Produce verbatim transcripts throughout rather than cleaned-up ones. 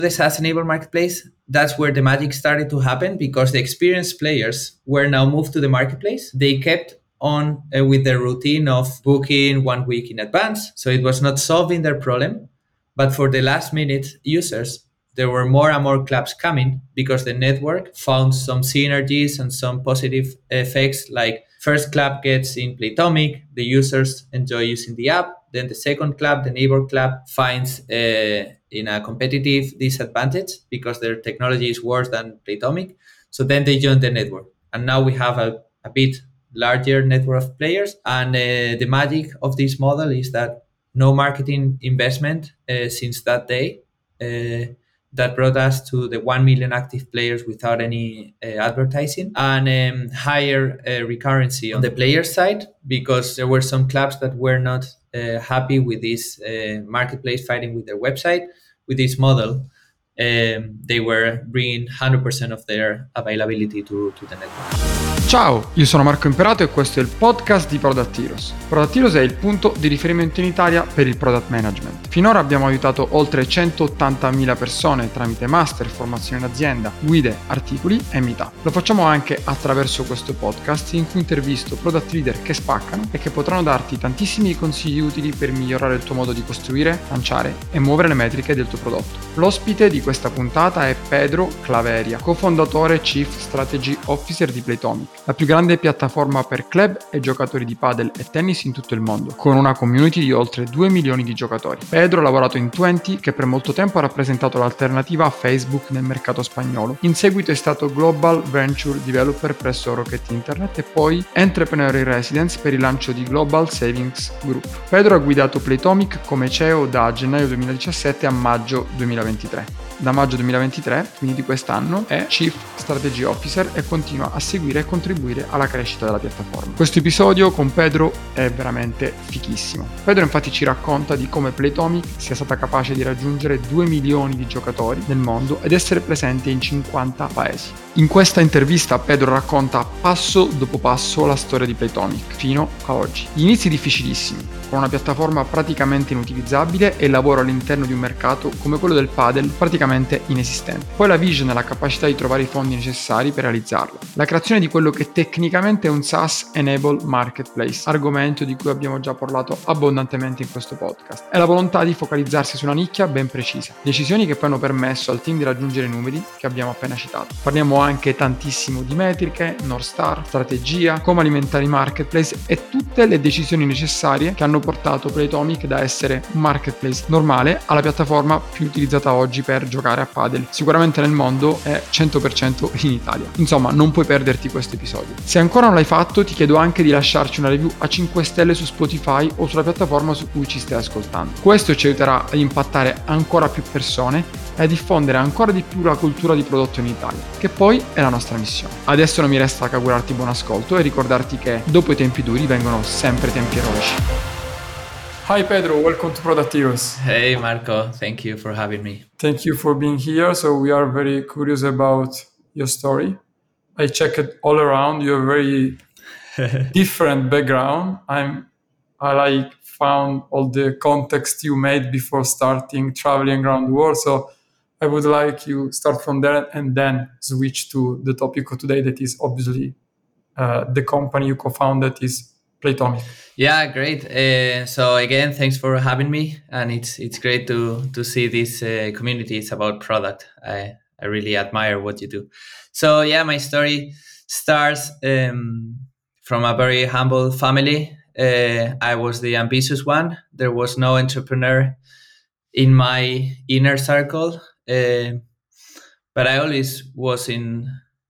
the SaaS-enabled marketplace, that's where the magic started to happen, because the experienced players were now moved to the marketplace. They kept on uh, with their routine of booking one week in advance, so it was not solving their problem. But for the last minute users, there were more and more clubs coming, because the network found some synergies and some positive effects, like first club gets in Playtomic, the users enjoy using the app. Then the second club, the neighbor club, finds uh, in a competitive disadvantage because their technology is worse than Playtomic. So then they join the network. And now we have a, a bit larger network of players. And uh, the magic of this model is that no marketing investment uh, since that day. Uh, that brought us to the one million active players without any uh, advertising, and um, higher uh, recurrency on the player side, because there were some clubs that were not uh, happy with this uh, marketplace fighting with their website. With this model, um, they were bringing one hundred percent of their availability to, to the network. Ciao, io sono Marco Imperato e questo è il podcast di Product Heroes. Product Heroes è il punto di riferimento in Italia per il product management. Finora abbiamo aiutato oltre centottantamila persone tramite master, formazione in azienda, guide, articoli e meetup. Lo facciamo anche attraverso questo podcast in cui intervisto product leader che spaccano e che potranno darti tantissimi consigli utili per migliorare il tuo modo di costruire, lanciare e muovere le metriche del tuo prodotto. L'ospite di questa puntata è Pedro Claveria, cofondatore e Chief Strategy Officer di Playtomic, la più grande piattaforma per club e giocatori di padel e tennis in tutto il mondo, con una community di oltre due milioni di giocatori. Pedro ha lavorato in Twenty, che per molto tempo ha rappresentato l'alternativa a Facebook nel mercato spagnolo. In seguito è stato Global Venture Developer presso Rocket Internet e poi Entrepreneur in Residence per il lancio di Global Savings Group. Pedro ha guidato Playtomic come C E O da gennaio duemiladiciassette a maggio duemilaventitré. Da maggio duemilaventitré, quindi di quest'anno, è Chief Strategy Officer e continua a seguire e contribuire alla crescita della piattaforma. Questo episodio con Pedro è veramente fichissimo. Pedro infatti ci racconta di come Playtomic sia stata capace di raggiungere due milioni di giocatori nel mondo ed essere presente in cinquanta paesi. In questa intervista Pedro racconta passo dopo passo la storia di Playtomic fino a oggi. Gli inizi difficilissimi, con una piattaforma praticamente inutilizzabile e il lavoro all'interno di un mercato come quello del padel praticamente inesistente. Poi la vision e la capacità di trovare i fondi necessari per realizzarlo. La creazione di quello che tecnicamente è un SaaS-enabled marketplace, argomento di cui abbiamo già parlato abbondantemente in questo podcast. E la volontà di focalizzarsi su una nicchia ben precisa. Decisioni che poi hanno permesso al team di raggiungere i numeri che abbiamo appena citato. Parliamo anche tantissimo di metriche, North Star, strategia, come alimentare i marketplace e tutte le decisioni necessarie che hanno portato Playtomic da essere un marketplace normale alla piattaforma più utilizzata oggi per giocare a padel, sicuramente nel mondo è cento per cento in Italia. Insomma, non puoi perderti questo episodio. Se ancora non l'hai fatto, ti chiedo anche di lasciarci una review a cinque stelle su Spotify o sulla piattaforma su cui ci stai ascoltando. Questo ci aiuterà ad impattare ancora più persone e a diffondere ancora di più la cultura di prodotto in Italia, che poi è la nostra missione. Adesso non mi resta che augurarti buon ascolto e ricordarti che dopo i tempi duri vengono sempre tempi eroici. Hi Pedro, welcome to Product Heroes. Hey Marco, thank you for having me. Thank you for being here. So we are very curious about your story. I checked all around. You have a very different background. I'm, I like found all the context you made before starting traveling around the world. So I would like you start from there and then switch to the topic of today, that is obviously uh, the company you co-founded is Playtomic. Yeah, great. Uh, so again, thanks for having me, and it's it's great to to see this uh, community. It's about product. I I really admire what you do. So yeah, my story starts um, from a very humble family. Uh, I was the ambitious one. There was no entrepreneur in my inner circle, uh, but I always was in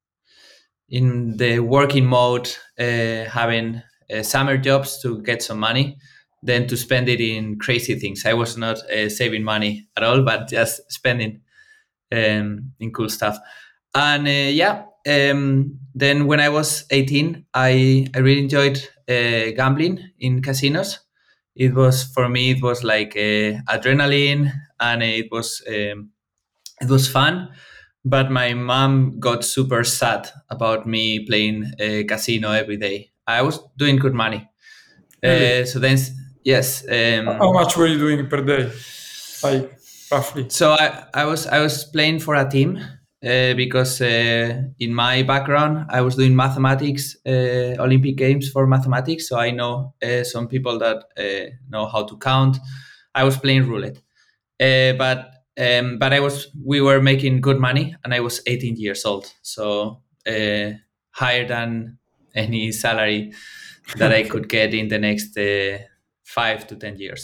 in the working mode, uh, having Uh, summer jobs to get some money, then to spend it in crazy things. I was not uh, saving money at all, but just spending um, in cool stuff. And uh, yeah, um, then when I was eighteen, I, I really enjoyed uh, gambling in casinos. It was, for me, it was like uh, adrenaline, and it was um, it was fun. But my mom got super sad about me playing uh, casino every day. I was doing good money. Really? Uh, so then, yes. Um, How much were you doing per day? Like roughly? So I, I was I was playing for a team uh, because uh, in my background I was doing mathematics, uh, Olympic Games for mathematics. So I know uh, some people that uh, know how to count. I was playing roulette, uh, but um, but I was we were making good money, and I was eighteen years old, so uh, higher than any salary that I could get in the next uh, five to ten years.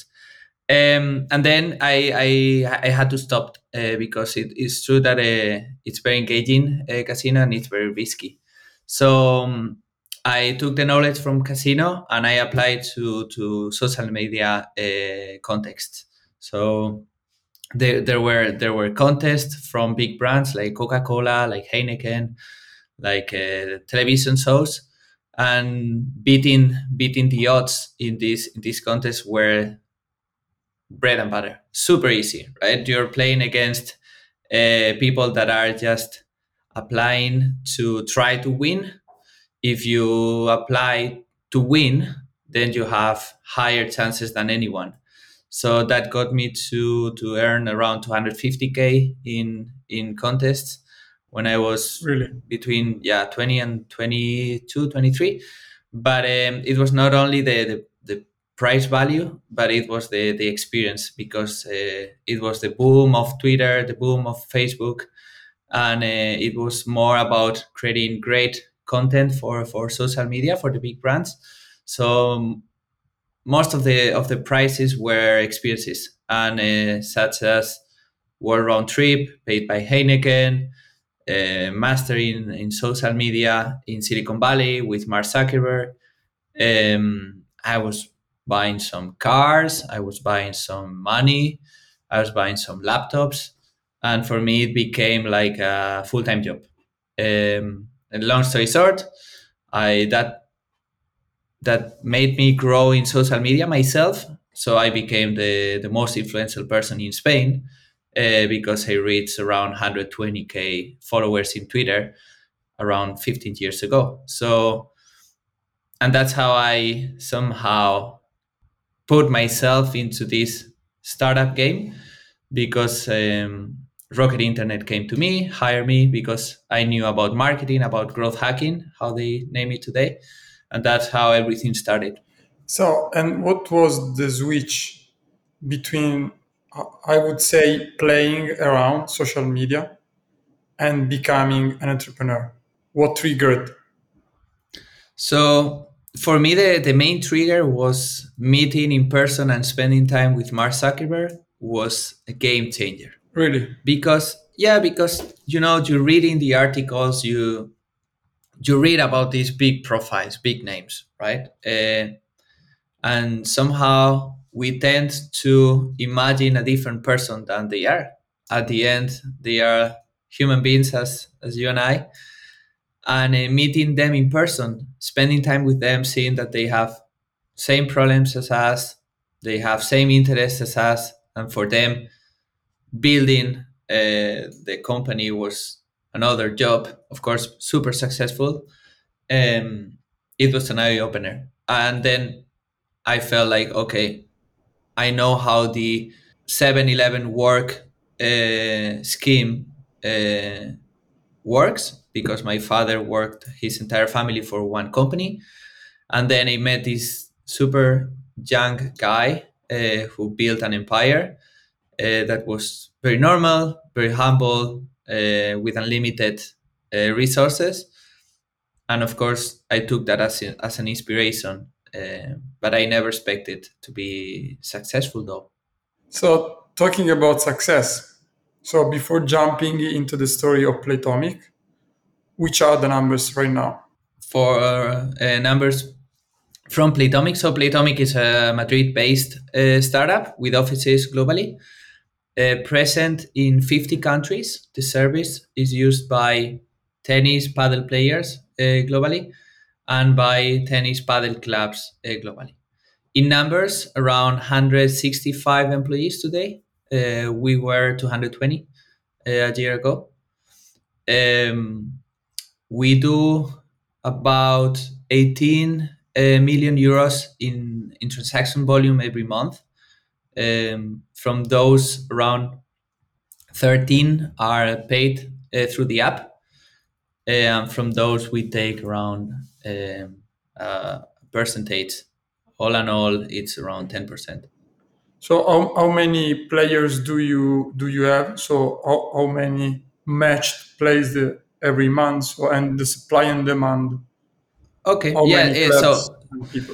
Um, and then I, I I had to stop uh, because it is true that uh, it's very engaging uh, casino, and it's very risky. So um, I took the knowledge from casino and I applied to to social media uh, context. So there there were there were contests from big brands like Coca-Cola, like Heineken, like uh, television shows, and beating beating the odds in this in this contest were bread and butter, super easy, right? You're playing against uh, people that are just applying to try to win. If you apply to win, then you have higher chances than anyone. So that got me to to earn around two hundred fifty k in in contests when I was Really? between yeah twenty and twenty two, twenty three. But um, it was not only the, the the price value, but it was the the experience, because uh, it was the boom of Twitter, the boom of Facebook, and uh, it was more about creating great content for for social media for the big brands. So um, most of the of the prices were experiences, and uh, such as world round trip paid by Heineken, uh, master in, in social media in Silicon Valley with Mark Zuckerberg. um, I was buying some cars, I was buying some money, I was buying some laptops, and for me it became like a full time job. Um, and long story short, I that that made me grow in social media myself. So I became the the most influential person in Spain uh, because I reached around one hundred twenty k followers in Twitter around fifteen years ago. So and that's how I somehow put myself into this startup game, because um, Rocket Internet came to me, hired me because I knew about marketing, about growth hacking, how they name it today, and that's how everything started. So, and what was the switch between, uh, I would say, playing around social media and becoming an entrepreneur? What triggered? So for me, the, the main trigger was meeting in person and spending time with Mark Zuckerberg was a game changer. Really? Because yeah, because you know, you read in the articles, you you read about these big profiles, big names, right? Uh, and somehow we tend to imagine a different person than they are. At the end, they are human beings as as you and I, and uh, meeting them in person, spending time with them, seeing that they have same problems as us, they have same interests as us, and for them, building uh, the company was another job. Of course, super successful. Um, it was an eye opener, and then I felt like, okay, I know how the Seven Eleven work uh, scheme uh, works, because my father worked his entire family for one company. And then I met this super young guy uh, who built an empire uh, that was very normal, very humble, uh, with unlimited uh, resources. And of course, I took that as, a, as an inspiration. Uh, but I never expected to be successful, though. So, talking about success. So, before jumping into the story of Playtomic, which are the numbers right now? For uh, numbers from Playtomic, so Playtomic is a Madrid-based uh, startup with offices globally, uh, present in fifty countries. The service is used by tennis paddle players uh, globally and by tennis paddle clubs uh, globally. In numbers, around one hundred sixty-five employees today. Uh, we were two hundred twenty uh, a year ago. Um, we do about eighteen uh, million euros in, in transaction volume every month. Um, from those, around thirteen are paid uh, through the app. And from those, we take around um, uh, percentage. All in all, it's around ten percent. So how, how many players do you do you have? So how, how many matched plays the, every month? So, and the supply and demand. Okay. How Yeah. many eh, clubs So and people?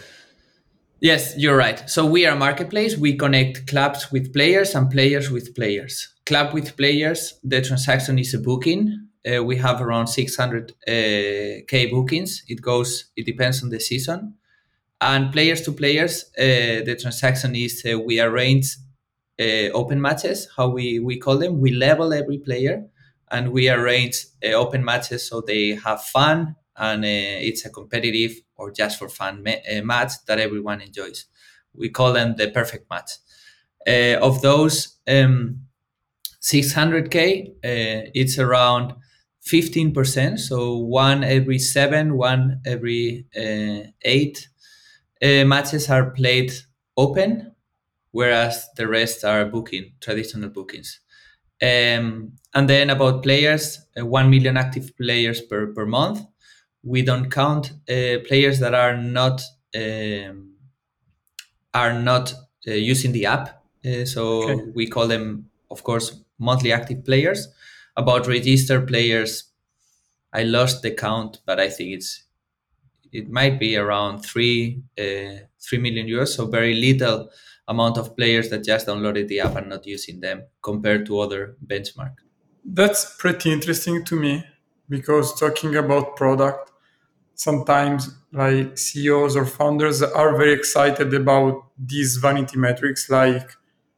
yes, you're right. So we are a marketplace. We connect clubs with players and players with players. Club with players, the transaction is a booking. Uh, we have around six hundred uh, K bookings. It goes, it depends on the season. And players to players, uh, the transaction is uh, we arrange uh, open matches, how we, we call them. We level every player and we arrange uh, open matches so they have fun and uh, it's a competitive or just for fun ma- uh, match that everyone enjoys. We call them the perfect match. Uh, of those um, six hundred K, uh, it's around fifteen percent. So one every seven, one every uh, eight uh, matches are played open, whereas the rest are booking, traditional bookings. Um, and then about players, uh, one million active players per, per month. We don't count uh, players that are not um, are not uh, using the app. Uh, Okay. so we call them, of course, monthly active players. About registered players, I lost the count, but I think it's it might be around three uh, three million euros. So very little amount of players that just downloaded the app and not using them compared to other benchmark. That's pretty interesting to me because talking about product, sometimes like C E Os or founders are very excited about these vanity metrics like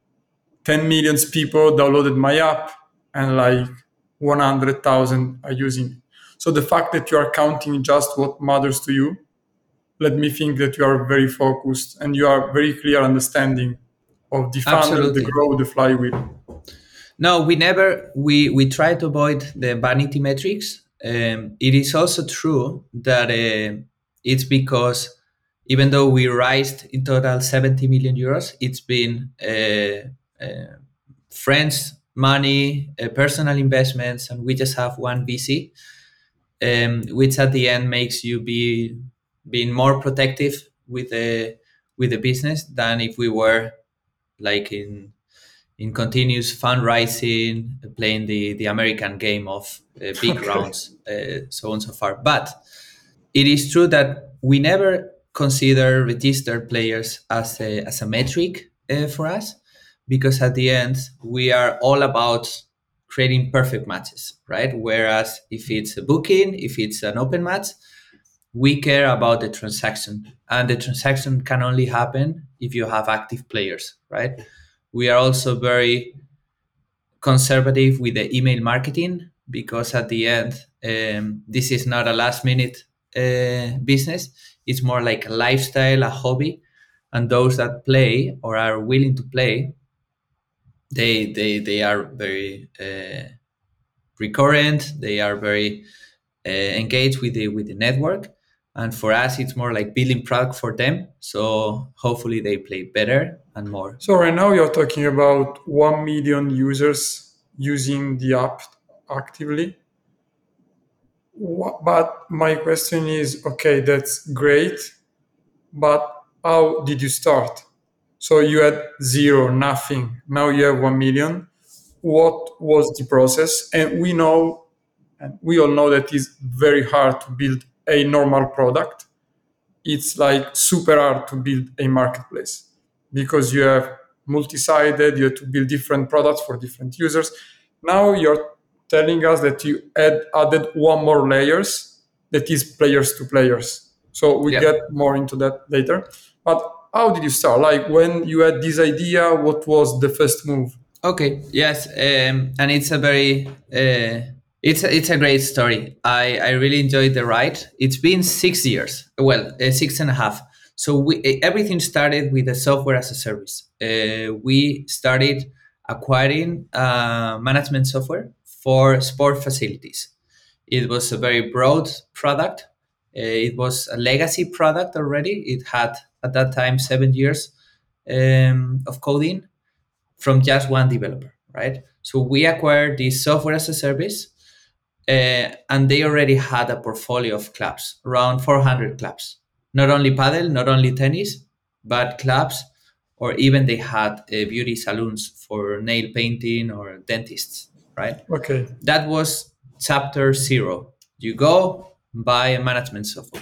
ten million people downloaded my app and like one hundred thousand are using it. So the fact that you are counting just what matters to you, let me think that you are very focused and you are very clear understanding of the funnel, the Absolutely. growth, the flywheel. No, we never we we try to avoid the vanity metrics. Um, it is also true that uh, it's because even though we raised in total seventy million euros, it's been uh, uh, friends' money, uh, personal investments, and we just have one V C, um, which at the end makes you be being more protective with the with the business than if we were like in in continuous fundraising, playing the, the American game of uh, big Okay. rounds, uh, so on and so far. But it is true that we never consider registered players as a, as a metric uh, for us, because at the end, we are all about creating perfect matches, right? Whereas if it's a booking, if it's an open match, we care about the transaction, and the transaction can only happen if you have active players, right? We are also very conservative with the email marketing because at the end, um, this is not a last minute uh, business. It's more like a lifestyle, a hobby, and those that play or are willing to play, they they they are very uh, recurrent. They are very uh, engaged with the with the network, and for us, it's more like building product for them. So hopefully, they play better and more. So right now you're talking about one million users using the app actively. Wha- But my question is, okay, that's great, but how did you start? So you had zero, nothing. Now you have one million. What was the process? And we know, and we all know that it's very hard to build a normal product. It's like super hard to build a marketplace because you have multi-sided, you have to build different products for different users. Now you're telling us that you add added one more layers that is players to players. So we Yeah. get more into that later. But how did you start? Like when you had this idea, what was the first move? Okay. Yes. Um, and it's a very uh, it's a, it's a great story. I I really enjoyed the ride. It's been six years. Well, uh, six and a half. So we eh, everything started with the software as a service. Uh, we started acquiring uh, management software for sport facilities. It was a very broad product. Uh, it was a legacy product already. It had at that time seven years um, of coding from just one developer, right? So we acquired this software as a service, uh, and they already had a portfolio of clubs, around four hundred clubs. Not only paddle, not only tennis, but clubs, or even they had uh, beauty salons for nail painting or dentists, right? Okay. That was chapter zero. You go buy a management software.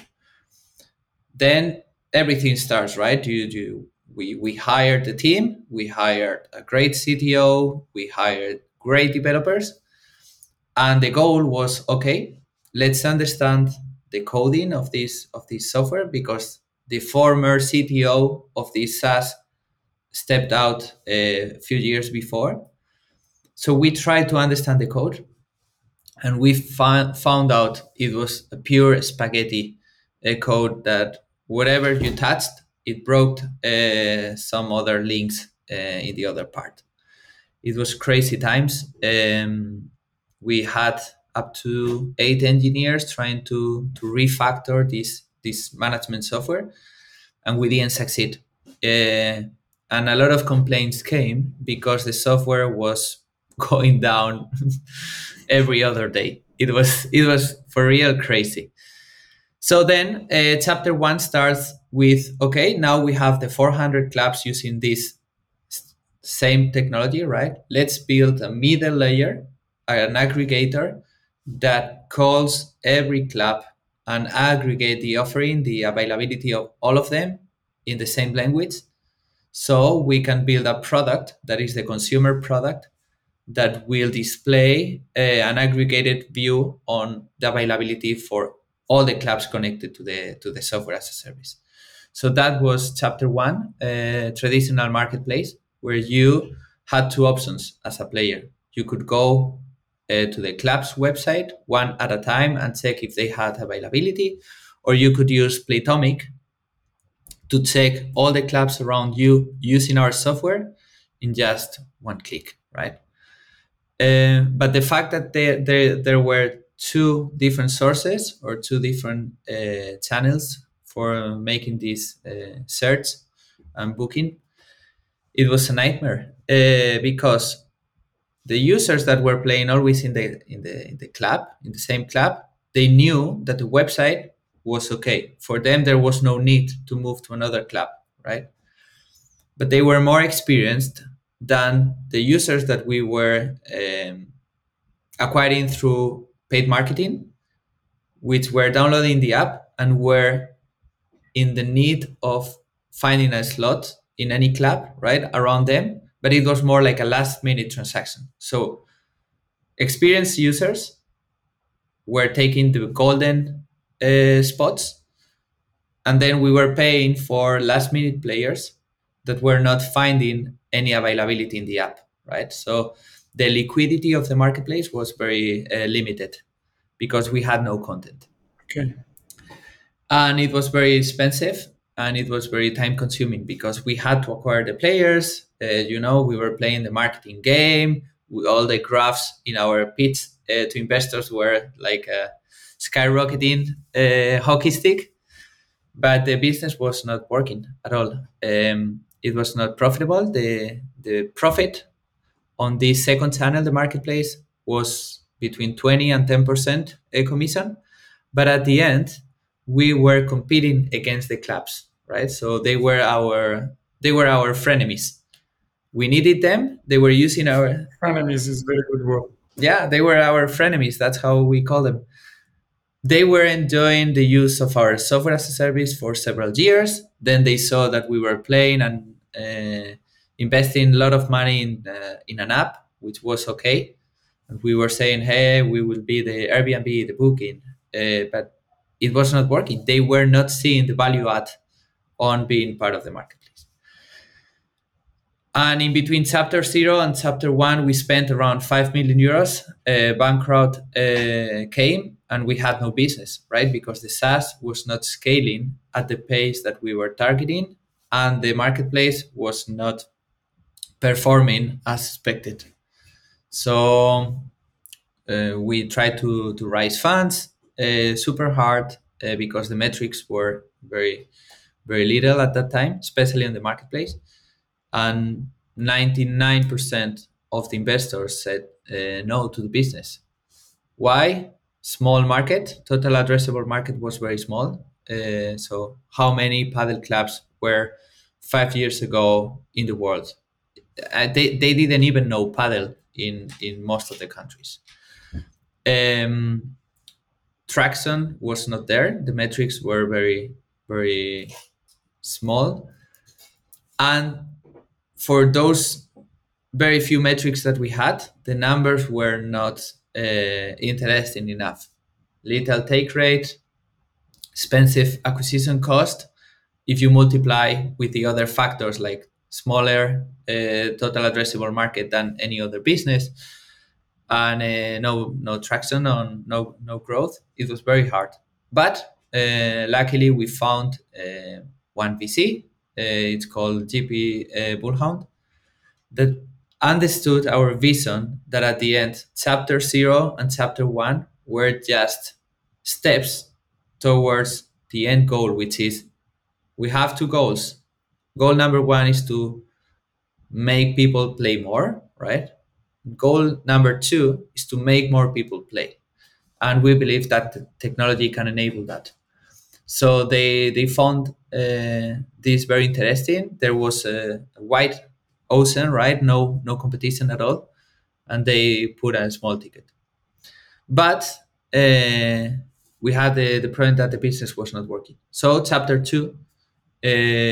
Then everything starts, right? You, you, we, we hired the team, we hired a great C T O, we hired great developers, and the goal was, okay, let's understand the coding of this of this software, because the former C T O of this SaaS stepped out a few years before. So we tried to understand the code, and we found found out it was a pure spaghetti uh, code that whatever you touched, it broke uh, some other links uh, in the other part. It was crazy times. Um, we had up to eight engineers trying to to refactor this this management software, and we didn't succeed. Uh, and a lot of complaints came because the software was going down every other day. It was it was for real crazy. So then uh, chapter one starts with, okay, now we have the four hundred clubs using this s- same technology, right? Let's build a middle layer, an aggregator that calls every club and aggregate the offering, the availability of all of them in the same language. So we can build a product that is the consumer product that will display uh, an aggregated view on the availability for all the clubs connected to the to the software as a service. So that was chapter one, uh, traditional marketplace, where you had two options as a player. You could go uh, to the club's website one at a time and check if they had availability, or you could use Playtomic to check all the clubs around you using our software in just one click, right? Uh, but the fact that there, there, there were two different sources or two different uh, channels for making this uh, search and booking, it was a nightmare uh, because the users that were playing always in the in the in the club, in the same club, they knew that the website was okay. For them, there was no need to move to another club, right? But they were more experienced than the users that we were um, acquiring through paid marketing, which were downloading the app and were in the need of finding a slot in any club, right, around them. But it was more like a last minute transaction. So experienced users were taking the golden uh, spots, and then we were paying for last minute players that were not finding any availability in the app, right? So the liquidity of the marketplace was very uh, limited because we had no content. Okay. And it was very expensive, and it was very time consuming because we had to acquire the players. Uh, you know, we were playing the marketing game. We, all the graphs in our pitch uh, to investors were like a skyrocketing uh, hockey stick, but the business was not working at all. Um, it was not profitable. The the profit on the second channel, the marketplace, was between twenty and ten percent a commission. But at the end, we were competing against the clubs, right? So they were our they were our frenemies. We needed them. They were using our Frenemies is very good word. yeah, they were our frenemies. That's how we call them. They were enjoying the use of our software as a service for several years. Then they saw that we were playing and uh, investing a lot of money in uh, in an app, which was okay. And we were saying, "Hey, we will be the Airbnb, the booking," uh, but it was not working. They were not seeing the value add on being part of the marketplace. And in between chapter zero and chapter one, we spent around five million euros. Uh, bankrupt uh, came, and we had no business, right? Because the SaaS was not scaling at the pace that we were targeting, and the marketplace was not performing as expected. So uh, we tried to, to raise funds uh, super hard uh, because the metrics were very, very little at that time, especially in the marketplace. And ninety-nine percent of the investors said uh, no to the business. Why? Small market, total addressable market was very small. Uh, so how many paddle clubs were five years ago in the world? Uh, they, they didn't even know paddle in, in most of the countries. Um, Traction was not there. The metrics were very, very small. And for those very few metrics that we had, the numbers were not uh, interesting enough. Little take rate, expensive acquisition cost. If you multiply with the other factors like smaller uh, total addressable market than any other business, and uh, no no traction on no no growth, it was very hard. But uh, luckily we found uh, one V C. Uh, it's called G P uh, Bullhound, that understood our vision, that at the end, chapter zero and chapter one were just steps towards the end goal, which is we have two goals. Goal number one is to make people play more, right? Goal number two is to make more people play. And we believe that technology can enable that. So they they found uh, this very interesting. There was a, a wide ocean, right? No no competition at all, and they put a small ticket. But uh, we had the, the problem that the business was not working. So chapter two uh,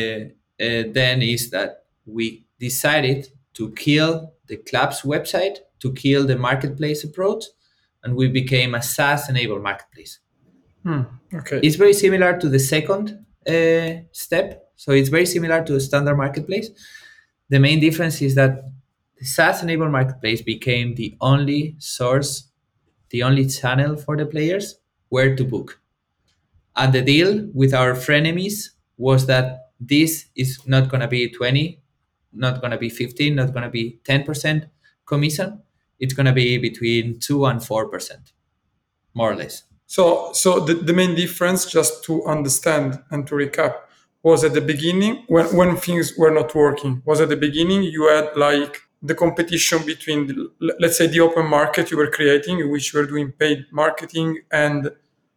uh, then is that we decided to kill the club's website, to kill the marketplace approach, and we became a SaaS-enabled marketplace. Hmm, okay. It's very similar to the second uh, step. So it's very similar to a standard marketplace. The main difference is that the SaaS-enabled marketplace became the only source, the only channel for the players where to book. And the deal with our frenemies was that this is not going to be twenty, not going to be fifteen, not going to be ten percent commission. It's going to be between two and four percent, more or less. So, so the, the main difference, just to understand and to recap, was at the beginning when, when things were not working. Was at the beginning you had like the competition between, the, let's say, the open market you were creating, in which you were doing paid marketing, and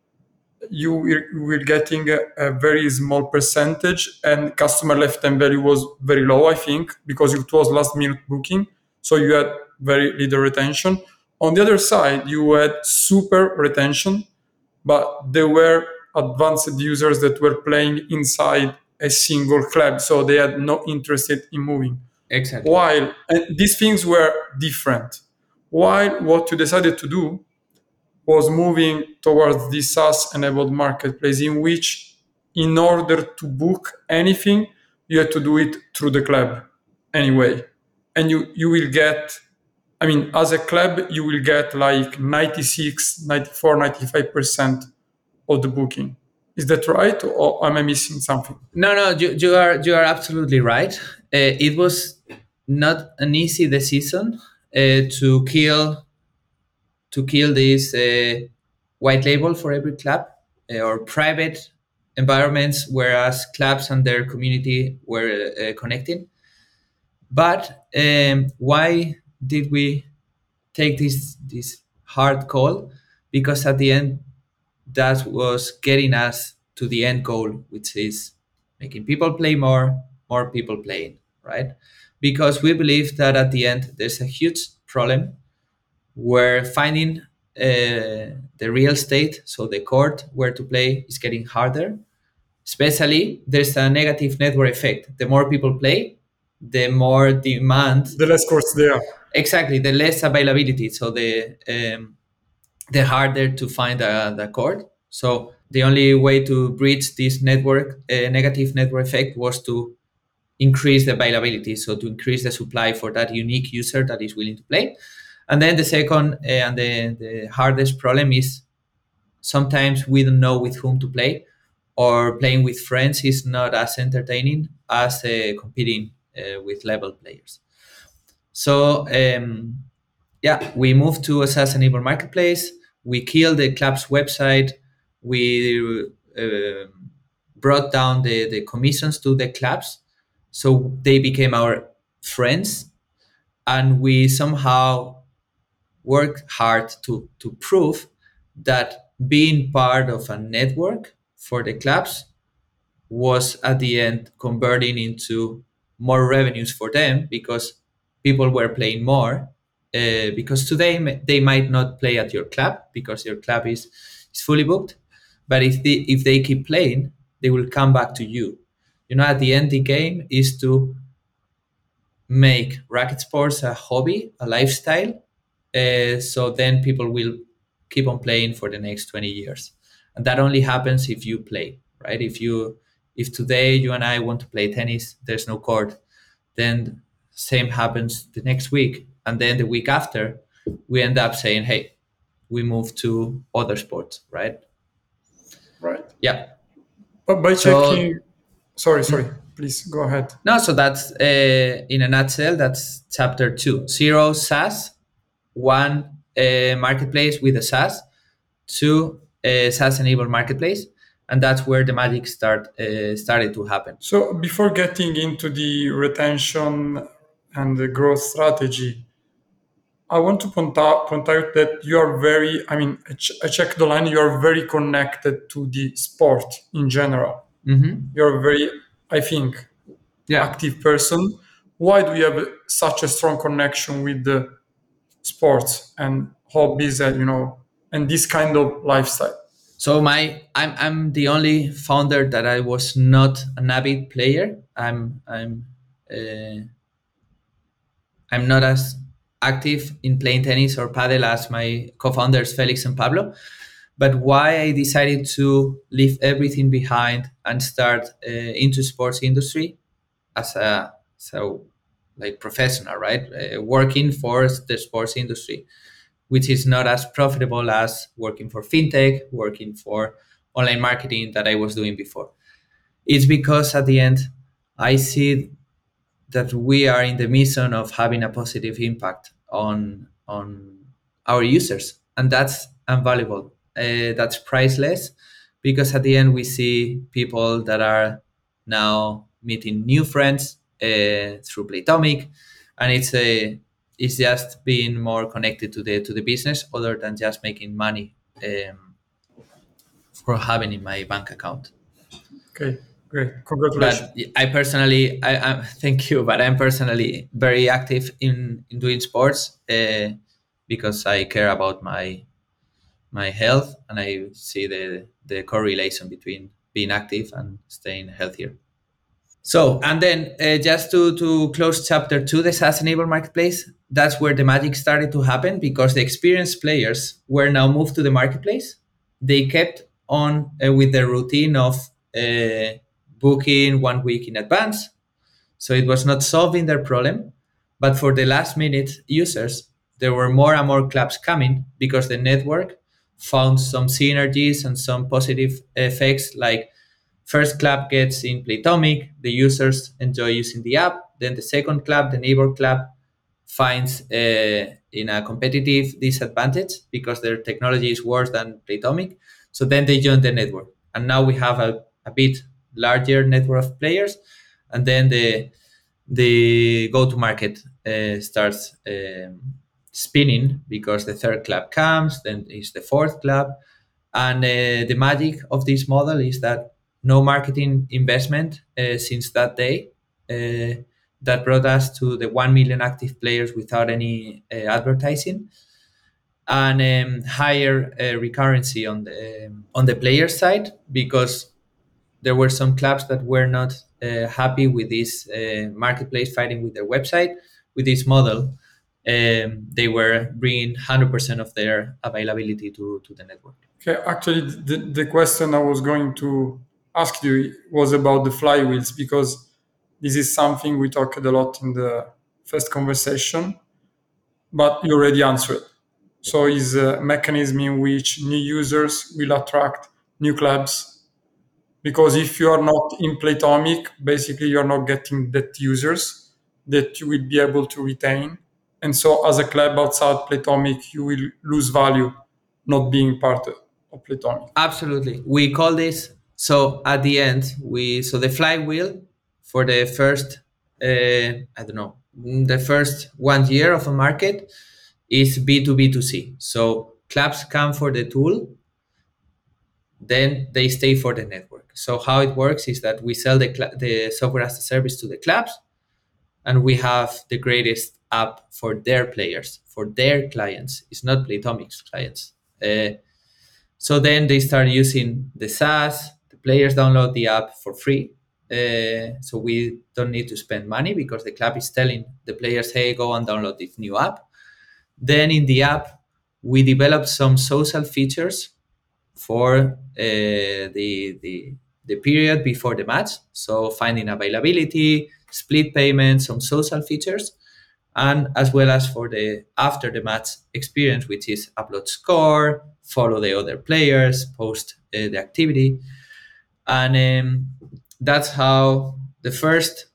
you were, you were getting a, a very small percentage, and customer lifetime value was very low, I think, because it was last minute booking. So you had very little retention. On the other side, you had super retention, but there were advanced users that were playing inside a single club, so they had no interest in moving. Exactly. While and these things were different. While what you decided to do was moving towards this SaaS-enabled marketplace, in which, in order to book anything, you had to do it through the club anyway, and you you will get. I mean, as a club, you will get like ninety-six, ninety-four, ninety-five percent of the booking. Is that right, or am I missing something? No, no, you, you are you are absolutely right. Uh, it was not an easy decision uh, to kill to kill this uh, white label for every club uh, or private environments, whereas clubs and their community were uh, connecting. But um, why did we take this this hard call? Because at the end, that was getting us to the end goal, which is making people play more, more people playing, right? Because we believe that at the end, there's a huge problem where finding uh, the real estate, so the court where to play, is getting harder. Especially, there's a negative network effect. The more people play, the more demand. The less courts there. Exactly, the less availability. So the um, the harder to find a, the court. So the only way to bridge this network uh, negative network effect was to increase the availability, so to increase the supply for that unique user that is willing to play. And then the second uh, and the, the hardest problem is sometimes we don't know with whom to play, or playing with friends is not as entertaining as uh, competing uh, with level players. So um, yeah, we moved to a SaaS-enabled marketplace. We killed the club's website. We uh, brought down the, the commissions to the clubs, so they became our friends. and we somehow worked hard to to prove that being part of a network for the clubs was at the end converting into more revenues for them because people were playing more. Uh, because today m- they might not play at your club because your club is is fully booked, but if they if they keep playing, they will come back to you. You know, at the end, the game is to make racket sports a hobby, a lifestyle. Uh, so then people will keep on playing for the next twenty years. And that only happens if you play, right? If you if today you and I want to play tennis, there's no court, then same happens the next week. And then the week after, we end up saying, hey, we move to other sports, right? Right. Yeah. But by So checking, sorry, sorry, please go ahead. no, so that's uh, in a nutshell, that's chapter two. Zero SaaS, one uh, marketplace with a SaaS, two uh, SaaS enabled marketplace, and that's where the magic start uh, started to happen. So before getting into the retention and the growth strategy, I want to point out, point out that you are very, I mean, I, ch- I checked the line, you are very connected to the sport in general. Mm-hmm. You're a very, I think, Yeah. active person. Why do you have such a strong connection with the sports and hobbies and, you know, and this kind of lifestyle? So my I'm I'm the only founder that I was not an avid player. I'm I'm uh, I'm not as active in playing tennis or paddle as my co-founders Felix and Pablo. But why I decided to leave everything behind and start uh, into sports industry as a so like professional, right? Uh, working for the sports industry, which is not as profitable as working for fintech, working for online marketing that I was doing before. It's because at the end, I see that we are in the mission of having a positive impact on on our users, and that's invaluable. Uh, that's priceless, because at the end we see people that are now meeting new friends uh, through Playtomic, and it's a it's just being more connected to the to the business other than just making money um, for having in my bank account. Okay, great. Congratulations. But I personally, I, I thank you, but I'm personally very active in, in doing sports uh, because I care about my my health, and I see the the correlation between being active and staying healthier. So, and then uh, just to to close chapter two, the SaaS enabled marketplace. That's where the magic started to happen because the experienced players were now moved to the marketplace. They kept on uh, with their routine of uh, booking one week in advance, so it was not solving their problem. But for the last minute users, there were more and more clubs coming because the network found some synergies and some positive effects. Like, first club gets in Playtomic, the users enjoy using the app. Then the second club, the neighbor club, finds uh, in a competitive disadvantage because their technology is worse than Playtomic. So then they join the network, and now we have a, a bit larger network of players, and then the the go-to-market uh, starts um, spinning because the third club comes, then is the fourth club, and uh, the magic of this model is that no marketing investment uh, since that day. Uh, that brought us to the one million active players without any uh, advertising, and um, higher uh, recurrency on the um, on the player side, because there were some clubs that were not uh, happy with this uh, marketplace fighting with their website. With this model, um, they were bringing one hundred percent of their availability to, to the network. Okay, actually, the, the question I was going to ask you was about the flywheels because this is something we talked a lot in the first conversation, but you already answered. So, is a mechanism in which new users will attract new clubs because if you are not in Playtomic, basically you're not getting that users that you will be able to retain. And so, as a club outside Playtomic, you will lose value not being part of Playtomic. Absolutely. We call this, so at the end, we so the flywheel for the first uh, I don't know, the first one year of a market is B two B two C. So clubs come for the tool, then they stay for the network. So how it works is that we sell the, cl- the software as a service to the clubs, and we have the greatest app for their players, for their clients. It's not Playtomic's clients. Uh, so then they start using the SaaS. The players download the app for free. Uh, so we don't need to spend money because the club is telling the players, hey, go and download this new app. Then in the app, we develop some social features for uh, the, the the period before the match. So finding availability, split payments, some social features, and as well as for the after the match experience, which is upload score, follow the other players, post uh, the activity, and um, that's how the first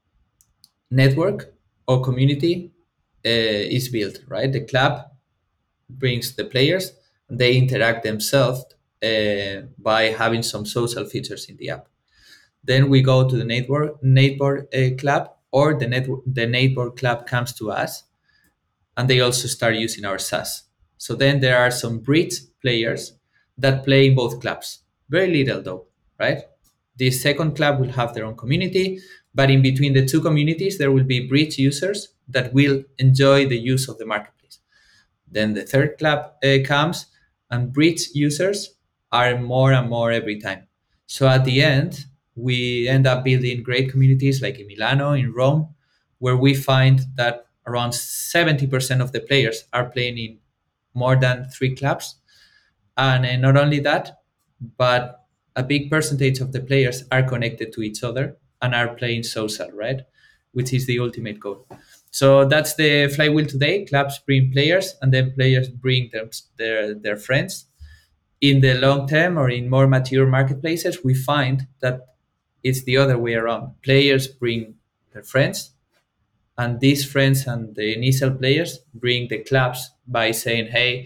network or community uh, is built. Right, the club brings the players, they interact themselves uh, by having some social features in the app. Then we go to the network neighbor uh, club, or the network the neighbor club comes to us, and they also start using our SaaS. So then there are some bridge players that play in both clubs. Very little though, right? The second club will have their own community, but in between the two communities, there will be bridge users that will enjoy the use of the marketplace. Then the third club uh, comes, and bridge users are more and more every time. So at the end, we end up building great communities like in Milano, in Rome, where we find that around seventy percent of the players are playing in more than three clubs. And uh, not only that, but a big percentage of the players are connected to each other and are playing social, right? Which is the ultimate goal. So that's the flywheel today. Clubs bring players, and then players bring them, their their friends. In the long term, or in more mature marketplaces, we find that it's the other way around. Players bring their friends, and these friends and the initial players bring the clubs by saying, "Hey,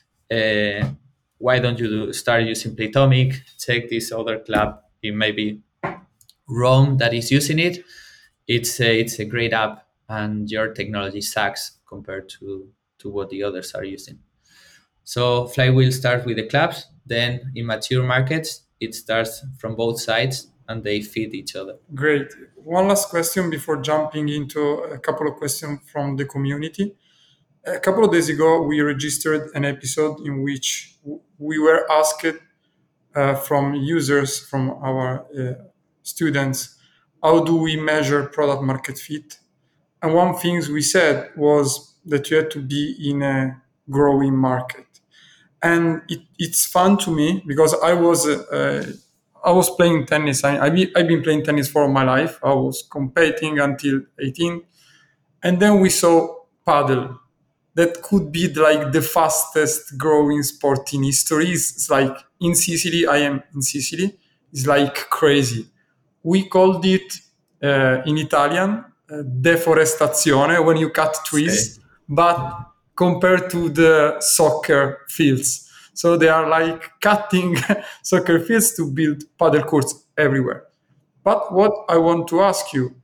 uh, why don't you do, start using Playtomic? Check this other club in maybe Rome that is using it. It's a, it's a great app, and your technology sucks compared to to what the others are using." So flywheel starts with the clubs. Then in mature markets, it starts from both sides, and they feed each other. Great. One last question before jumping into a couple of questions from the community. A couple of days ago, we registered an episode in which w- we were asked uh, from users, from our uh, students, how do we measure product market fit? And one thing we said was that you had to be in a growing market. And it, it's fun to me because I was uh, I was playing tennis. I, I be, I've been playing tennis for all my life. I was competing until eighteen, and then we saw paddle. That could be like the fastest growing sport in history. It's like in Sicily. I am in Sicily. It's like crazy. We called it uh, in Italian uh, deforestazione, when you cut Okay. trees, but compared to the soccer fields. So they are like cutting soccer fields to build paddle courts everywhere. But what I want to ask you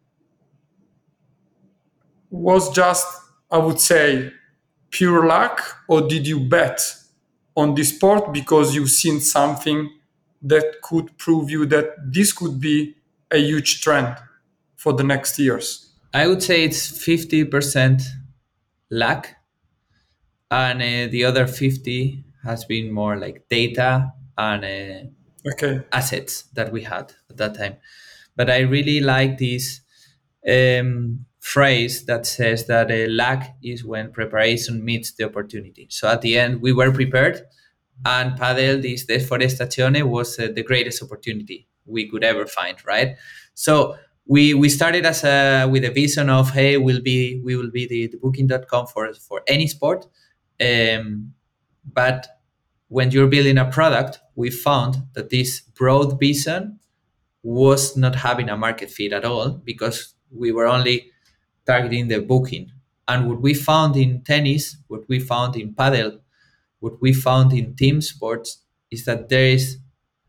was just, I would say, pure luck, or did you bet on this sport because you've seen something that could prove you that this could be a huge trend for the next years? I would say it's fifty percent luck, and uh, the other fifty has been more like data and uh, Okay. assets that we had at that time. But I really like this um, phrase that says that uh, luck is when preparation meets the opportunity. So at the end, we were prepared, and Padel, this deforestazione, was uh, the greatest opportunity we could ever find, right? So we we started as a with a vision of, hey, we'll be we will be the, the booking dot com for for any sport, um, but when you're building a product, we found that this broad vision was not having a market fit at all, because we were only targeting the booking. And what we found in tennis, what we found in paddle, what we found in team sports is that there is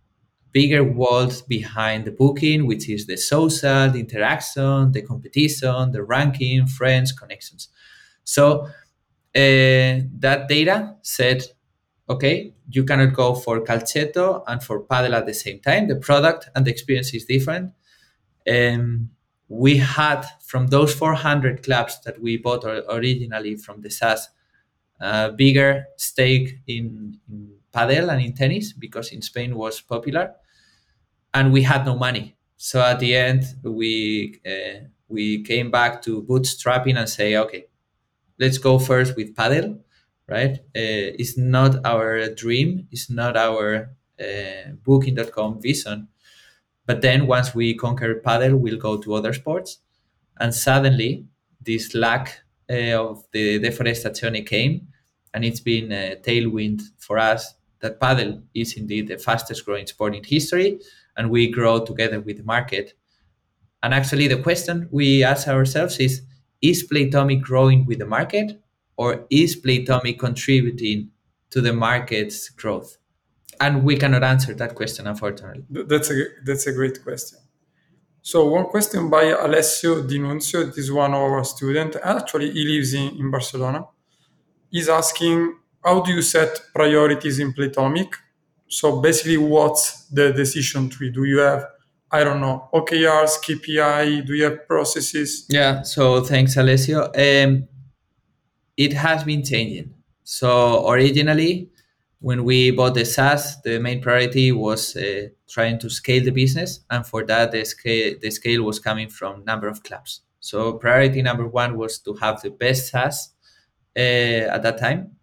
bigger world behind the booking, which is the social, the interaction, the competition, the ranking, friends, connections. So uh, that data said, okay, you cannot go for calcetto and for paddle at the same time. The product and the experience is different. Um, we had from those four hundred clubs that we bought or- originally from the SaaS, a bigger stake in, in paddle and in tennis because in Spain was popular, and we had no money. So at the end, we uh, we came back to bootstrapping and say, okay, let's go first with paddle, right? Uh, it's not our dream, it's not our uh, booking dot com vision. But then once we conquer paddle, we'll go to other sports. And suddenly, this lack uh, of the deforestazione came, and it's been a tailwind for us that paddle is indeed the fastest growing sport in history, and we grow together with the market. And actually, the question we ask ourselves is Is Playtomic growing with the market, or is Playtomic contributing to the market's growth? And we cannot answer that question, unfortunately. Th- That's a that's a great question. So one question by Alessio Di Nunzio, that is one of our students. Actually, he lives in, in Barcelona. He's asking, how do you set priorities in Playtomic? So basically, what's the decision tree? Do you have, I don't know, O K Rs, K P I? Do you have processes? Yeah, so thanks, Alessio. Um, it has been changing. So originally, when we bought the SaaS, the main priority was uh, trying to scale the business, and for that, the scale the scale was coming from number of clubs. So priority number one was to have the best SaaS uh, at that time,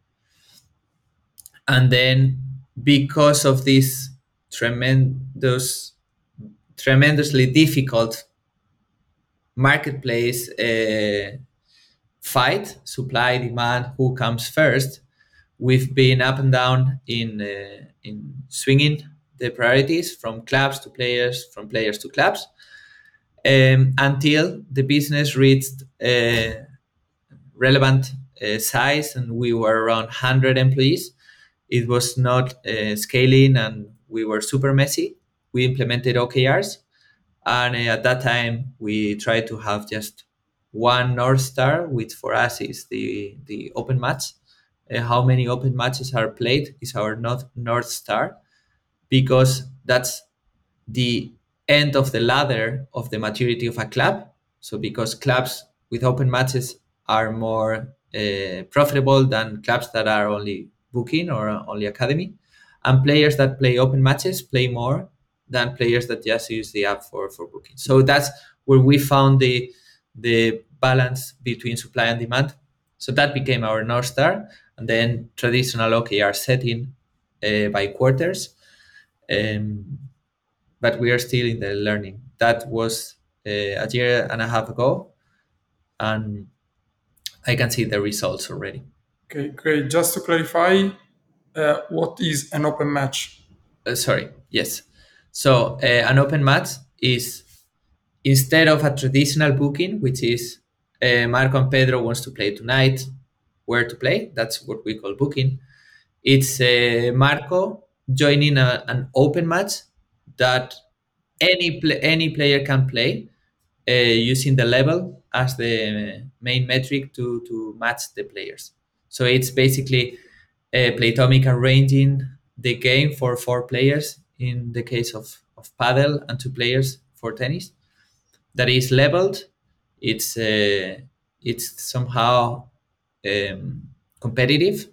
and then because of this tremendous, tremendously difficult marketplace uh, fight, supply demand, who comes first, we've been up and down in uh, in swinging the priorities from clubs to players, from players to clubs, um, until the business reached uh, relevant uh, size and we were around one hundred employees. It was not uh, scaling and we were super messy. We implemented O K Rs, and uh, at that time we tried to have just one North Star, which for us is the, the open match. Uh, how many open matches are played is our North, North Star, because that's the end of the ladder of the maturity of a club. So because clubs with open matches are more uh, profitable than clubs that are only booking or only academy, and players that play open matches play more than players that just use the app for, for booking. So that's where we found the the balance between supply and demand. So that became our North Star, and then traditional O K R setting uh, by quarters. Um, but we are still in the learning. That was uh, a year and a half ago, and I can see the results already. Okay, great. Just to clarify, uh, what is an open match? Uh, sorry, yes. So uh, an open match is instead of a traditional booking, which is uh, Marco and Pedro wants to play tonight, where to play. That's what we call booking. It's uh, Marco joining a, an open match that any pl- any player can play uh, using the level as the main metric to to match the players. So it's basically uh, Playtomic arranging the game for four players in the case of of paddle and two players for tennis. That is leveled. It's uh, it's somehow um, competitive,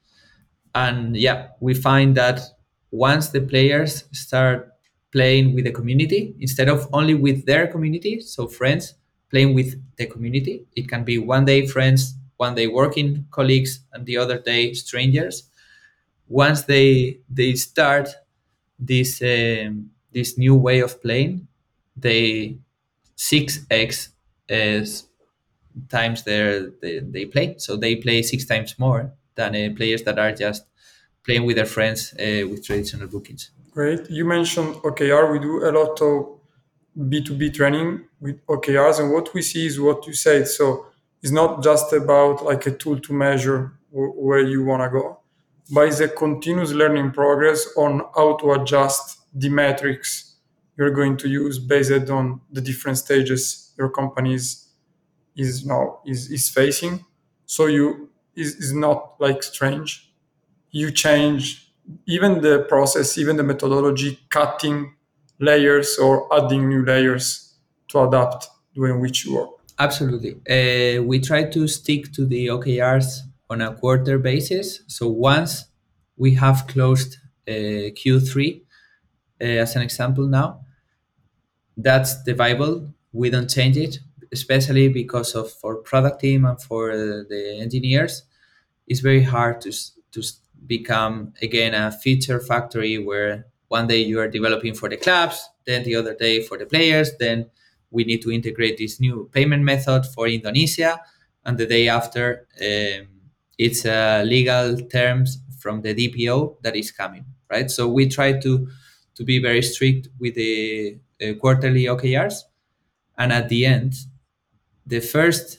and yeah, we find that once the players start playing with the community instead of only with their community, so friends playing with the community, it can be one day friends, one day working colleagues, and the other day strangers. Once they they start this um, this new way of playing, they six x as times their they, they play. So they play six times more than uh, players that are just playing with their friends uh, with traditional bookings. Great. You mentioned O K R. We do a lot of B two B training with O K Rs, and what we see is what you said. So it's not just about like a tool to measure w- where you want to go. by the continuous learning progress on how to adjust the metrics you're going to use based on the different stages your company is, is now is, is facing. So you is, is not like strange. You change even the process, even the methodology, cutting layers or adding new layers to adapt the way in which you work. Absolutely. Uh, we try to stick to the O K Rs on a quarter basis. So once we have closed uh, Q three, uh, as an example now, that's the Bible. We don't change it, especially because of for product team and for uh, the engineers. It's very hard to s- to s- become again a feature factory where one day you are developing for the clubs, then the other day for the players, then we need to integrate this new payment method for Indonesia, and the day after um, it's uh, legal terms from the D P O that is coming, right? So we try to to be very strict with the uh, quarterly O K Rs, and at the end, the first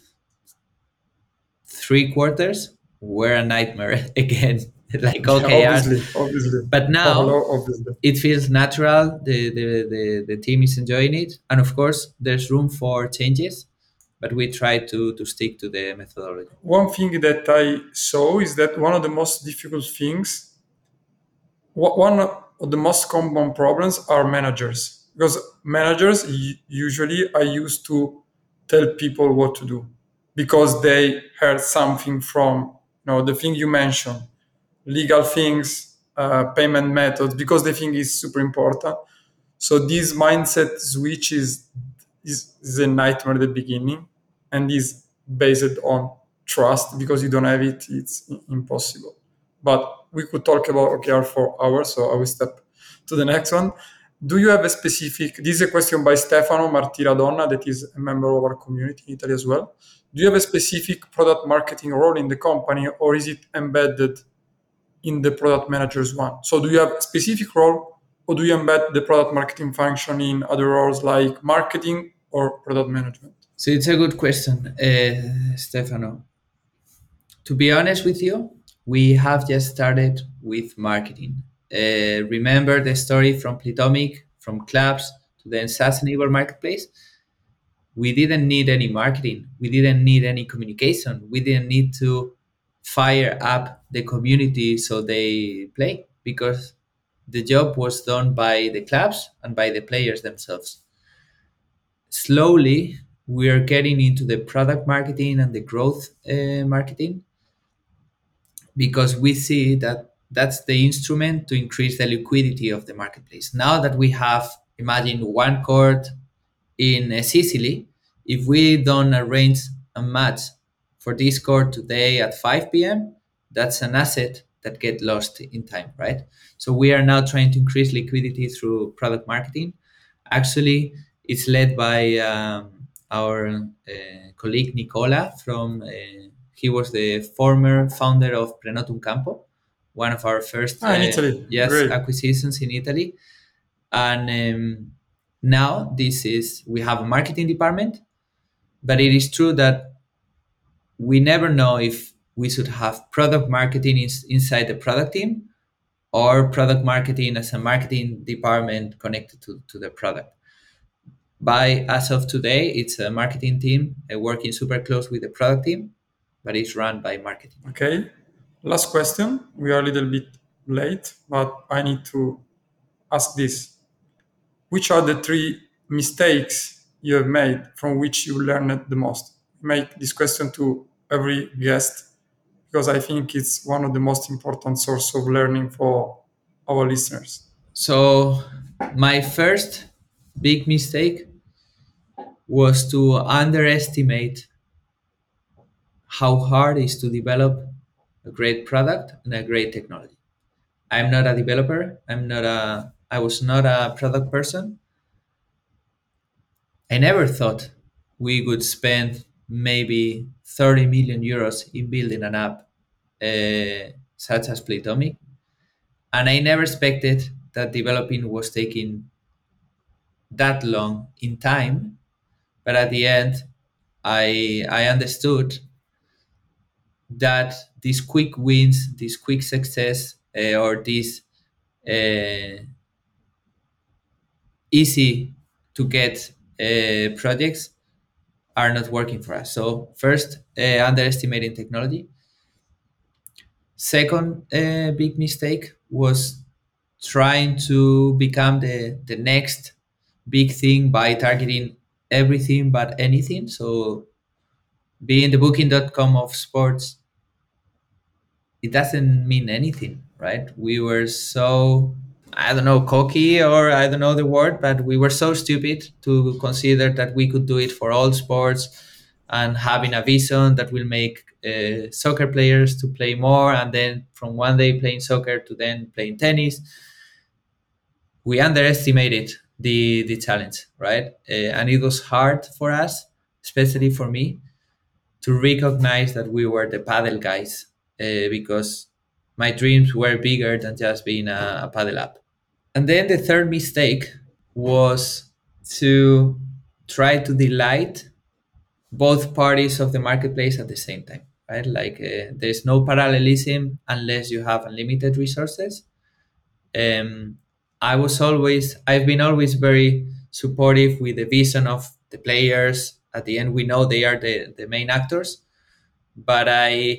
three quarters were a nightmare again, like Yeah, O K Rs. obviously, obviously. But now Oh, obviously. it feels natural. The, the, the, the team is enjoying it. And of course, there's room for changes, but we try to, to stick to the methodology. One thing that I saw is that one of the most difficult things, wh- one of the most common problems are managers. Because managers u- usually are used to tell people what to do because they heard something from, you know, the thing you mentioned, legal things, uh, payment methods, because they think it's super important. So this mindset switch is, is, is a nightmare at the beginning and is based on trust. Because you don't have it, it's i- impossible. But we could talk about O K R for hours, so I will step to the next one. Do you have a specific, this is a question by Stefano Martiradonna, that is a member of our community in Italy as well. Do you have a specific product marketing role in the company, or is it embedded in the product manager's one? So do you have a specific role, or do you embed the product marketing function in other roles like marketing or product management? So it's a good question, uh, Stefano. To be honest with you, we have just started with marketing. Uh, remember the story from Plitomic, from clubs to the SaaS enabled marketplace? We didn't need any marketing. We didn't need any communication. We didn't need to fire up the community so they play, because the job was done by the clubs and by the players themselves. Slowly, we are getting into the product marketing and the growth uh, marketing, because we see that that's the instrument to increase the liquidity of the marketplace. Now that we have, imagine, one court in uh, Sicily, if we don't arrange a match for this court today at five p m, that's an asset that get lost in time, right? So we are now trying to increase liquidity through product marketing. Actually, it's led by um, our uh, colleague Nicola from. Uh, he was the former founder of Prenotum Campo, one of our first Ah, in uh, Italy, yes great. acquisitions in Italy. And um, now this is we have a marketing department, but it is true that we never know if we should have product marketing is inside the product team, or product marketing as a marketing department connected to, to the product. By as of today, it's a marketing team uh, working super close with the product team, but it's run by marketing. Okay. Last question. We are a little bit late, but I need to ask this. Which are the three mistakes you have made from which you learned the most? Make this question to every guest because I think it's one of the most important source of learning for our listeners. So my first big mistake was to underestimate how hard it is to develop a great product and a great technology. I'm not a developer. I'm not a. I was not a product person. I never thought we would spend maybe thirty million euros in building an app uh, such as Playtomic, and I never expected that developing was taking that long in time. But at the end, I I understood that these quick wins, this quick success, uh, or these uh, easy to get uh, projects are not working for us. So first, uh, underestimating technology. Second uh, big mistake was trying to become the, the next big thing by targeting everything but anything. So being the booking dot com of sports, it doesn't mean anything, right? We were so, I don't know, cocky, or I don't know the word, but we were so stupid to consider that we could do it for all sports and having a vision that will make uh, soccer players to play more, and then from one day playing soccer to then playing tennis. We underestimated the the challenge, right? Uh, and it was hard for us, especially for me, to recognize that we were the paddle guys, uh, because my dreams were bigger than just being a, a paddle app. And then the third mistake was to try to delight both parties of the marketplace at the same time, right? Like uh, there's no parallelism unless you have unlimited resources. Um, I was always, I've been always very supportive with the vision of the players. At the end, we know they are the, the main actors, but I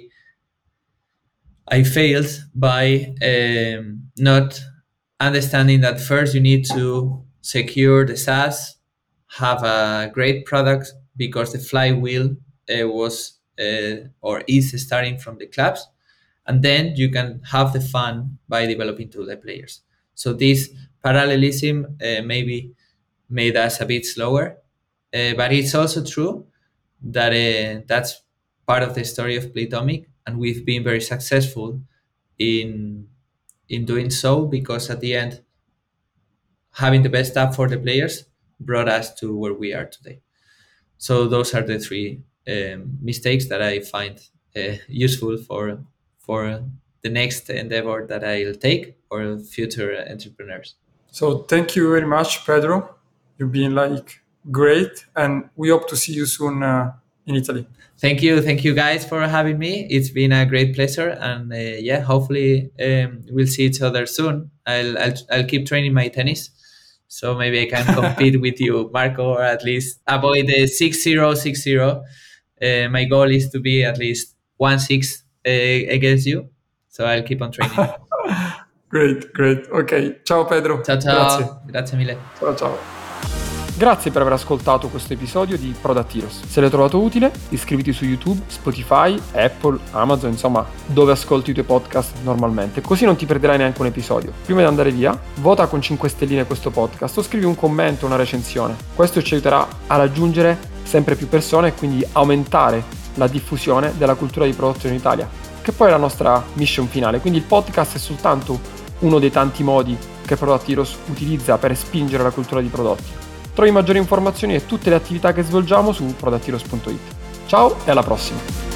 I failed by um, not understanding that first you need to secure the SaaS, have a great product, because the flywheel uh, was uh, or is starting from the clubs, and then you can have the fun by developing to the players. So this parallelism uh, maybe made us a bit slower, uh, but it's also true that uh, that's part of the story of Playtomic, and we've been very successful in in doing so, because at the end, having the best app for the players brought us to where we are today. So those are the three um, mistakes that I find uh, useful for for the next endeavor that I'll take, or future entrepreneurs. So thank you very much, Pedro. You've been like great, and we hope to see you soon uh, in Italy. Thank you, thank you guys for having me. It's been a great pleasure, and uh, yeah, hopefully um, we'll see each other soon. I'll, I'll I'll keep training my tennis, so maybe I can compete with you, Marco, or at least avoid the six zero six zero. Uh, my goal is to be at least one six uh, against you, so I'll keep on training. Great, great. Ok, ciao Pedro. Ciao ciao, Grazie. grazie mille. Ciao ciao. Grazie per aver ascoltato questo episodio di Product Heroes. Se l'hai trovato utile, iscriviti su YouTube, Spotify, Apple, Amazon, insomma, dove ascolti i tuoi podcast normalmente, così non ti perderai neanche un episodio. Prima di andare via, vota con cinque stelline questo podcast o scrivi un commento, una recensione. Questo ci aiuterà a raggiungere sempre più persone e quindi aumentare la diffusione della cultura di prodotto in Italia, che poi è la nostra mission finale. Quindi il podcast è soltanto uno dei tanti modi che Product Heroes utilizza per spingere la cultura di prodotti. Trovi maggiori informazioni e tutte le attività che svolgiamo su product heroes punto it. Ciao e alla prossima!